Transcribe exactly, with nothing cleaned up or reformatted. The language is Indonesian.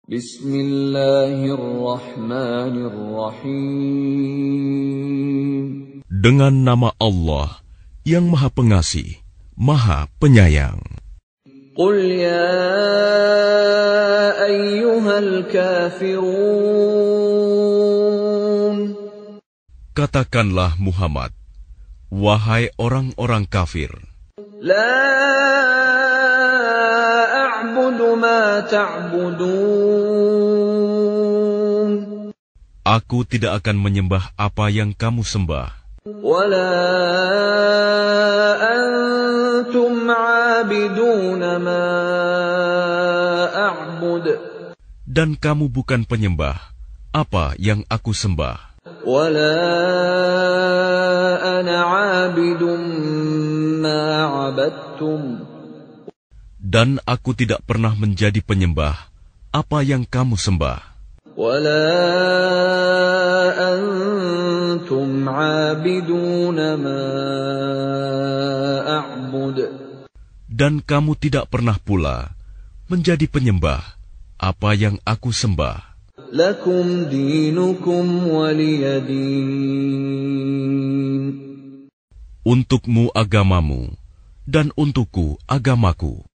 Bismillahirrahmanirrahim. Dengan nama Allah yang Maha Pengasih, Maha Penyayang. Qul ya ayyuhal kafirun. Katakanlah Muhammad, wahai orang-orang kafir. La a'budu ma ta'budun. Aku tidak akan menyembah apa yang kamu sembah. Wala antum 'abiduna ma a'bud. Dan kamu bukan penyembah apa yang aku sembah. Wala ana 'abidun ma 'abadtum. Dan aku tidak pernah menjadi penyembah apa yang kamu sembah. Wala antum 'abiduna ma a'bud. Dan kamu tidak pernah pula menjadi penyembah apa yang aku sembah. Lakum dinukum waliyadin. Untukmu agamamu, dan untukku agamaku.